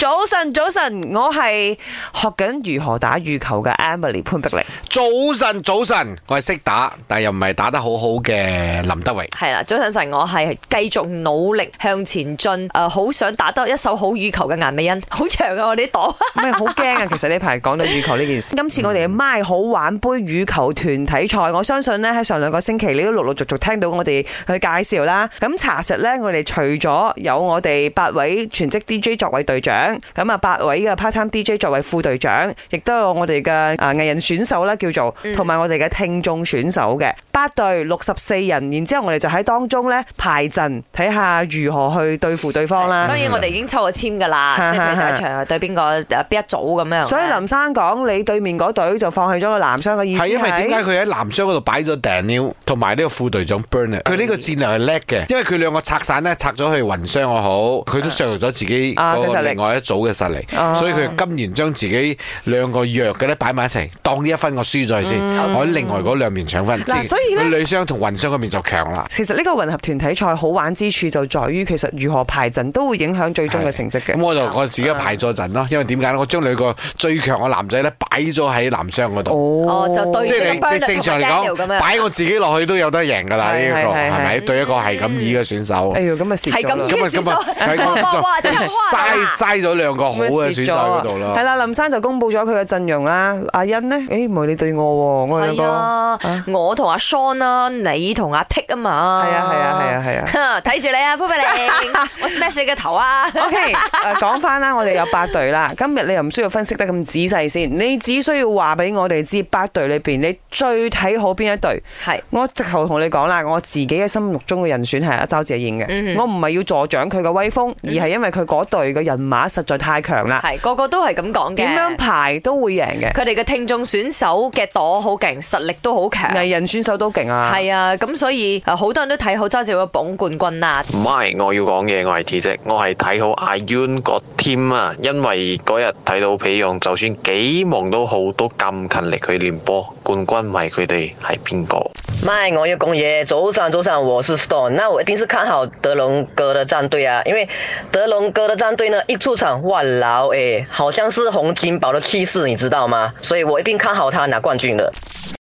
早晨，早晨，我係學緊如何打羽球嘅 Emily 潘碧玲。 早晨，早晨，我係識打，但又唔係打得好好嘅林德榮。 係啦，早晨晨，我係繼續努力向前進，好想打得一手好羽球嘅顏美欣。好長啊，我哋啲檔。 唔係好驚啊！其實呢排講到羽球呢件事，今次我哋嘅MY好玩杯羽球團體賽，我相信呢喺上2個星期你都陸陸續續聽到我哋去介紹啦。咁查實呢，我哋除咗有我哋8位全職 DJ 作為隊長，咁啊8位嘅 part-time DJ 作為副隊長，亦都有我哋嘅藝人選手啦，叫做同埋我哋嘅聽眾選手嘅8隊64人，然之後我哋就喺當中呢排陣，睇下如何去對付對方啦。 當然我哋已經抽咗籤噶啦，即係第一場對邊個邊一組咁樣。 所以林生講你對面嗰隊就放棄咗個男雙嘅意思係因為點解佢喺男雙嗰度擺咗 Daniel 同埋呢個副隊長 Bernard， 佢呢個戰略係叻嘅，因為佢兩個拆散咧，拆咗去混雙又好，佢都削弱咗自己另外一組嘅實力，所以佢甘願將自己兩個弱嘅咧擺埋一齊，當呢一分我輸咗先，我喺另外嗰兩邊搶分。 所以咧女雙同混雙嗰邊就強啦。 其實呢個混合團體賽好玩之處就在於，其實如何排陣都會影響最終嘅成績嘅。 咁我自己排咗陣咯，因為點解咧？我將兩個最強嘅男仔咧擺咗喺男雙嗰度。 就對， 即係你正常嚟講，擺我自己落去都有得贏㗎啦。呢一個係咪對一個係咁易嘅選手？ 哎呀，咁啊蝕咗啦！ 嘥咗兩個好嘅選手嗰度咯。 係啦，林生就公佈咗佢嘅陣容啦。阿欣呢？唔係你對我喎，我哋兩個。 我同阿 Sean 啦，你同阿 Tick 啊嘛。 係啊。 睇住你啊，潘碧玲，我 smash 你嘅頭啊。 OK， 講翻啦，我哋有8隊啦。今日你又唔需要分析得咁仔細先，你只需要話俾我哋知8隊裏邊你最睇好邊一隊。係，我直頭同你講啦，我自己嘅心目中嘅人選係阿周謝燕嘅。我唔係要助長佢嘅威風，而係因為佢嗰隊嘅人馬實在太強啦。 係，個個都係咁講嘅。 點樣排都會贏嘅。佢哋嘅聽眾選手嘅朵好勁，實力都好強。 藝人選手都勁啊。係啊，咁所以好多人都睇好周謝燕嘅榜冠軍啊。 唔係，我要講嘢，我係 T 姐，我係睇好阿 Yun 個 team 啊，因為嗰日睇到皮勇，就算幾忙都好，都咁勤力去練波，冠軍唔係佢哋係邊個？ 唔係，我要講嘢。早上，我是 Stone， 那我一定是看好德龍哥的戰隊啊，因為德龍哥的戰隊呢，一出場，哇老好像是洪金寶的氣勢，你知道嗎？所以我一定看好他拿冠軍的。